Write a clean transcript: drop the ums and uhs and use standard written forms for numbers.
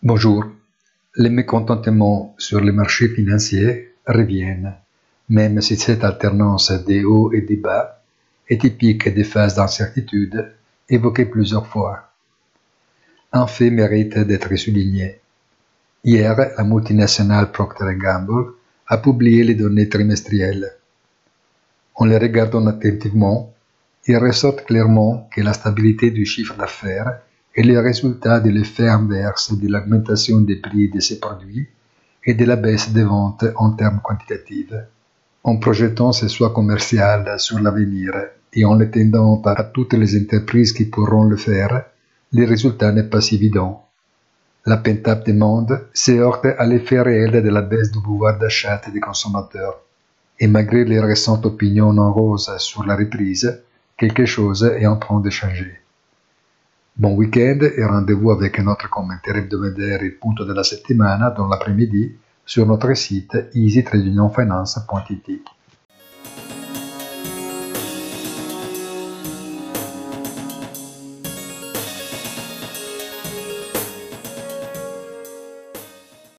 Bonjour. Les mécontentements sur les marchés financiers reviennent, même si cette alternance des hauts et des bas est typique des phases d'incertitude évoquées plusieurs fois. Un fait mérite d'être souligné. Hier, la multinationale Procter & Gamble a publié les données trimestrielles. En les regardant attentivement, il ressort clairement que la stabilité du chiffre d'affaires est le résultat de l'effet inverse de l'augmentation des prix de ces produits et de la baisse des ventes en termes quantitatifs. En projetant ces choix commerciaux sur l'avenir et en l'étendant à toutes les entreprises qui pourront le faire, le résultat n'est pas si évident. La pent-up demande se heurte à l'effet réel de la baisse du pouvoir d'achat des consommateurs. Et malgré les récentes opinions non roses sur la reprise, quelque chose est en train de changer. Bon week-end et rendez-vous avec notre commentaire hebdomadaire Il punto della settimana dans l'après-midi sur notre site easy-finance.it.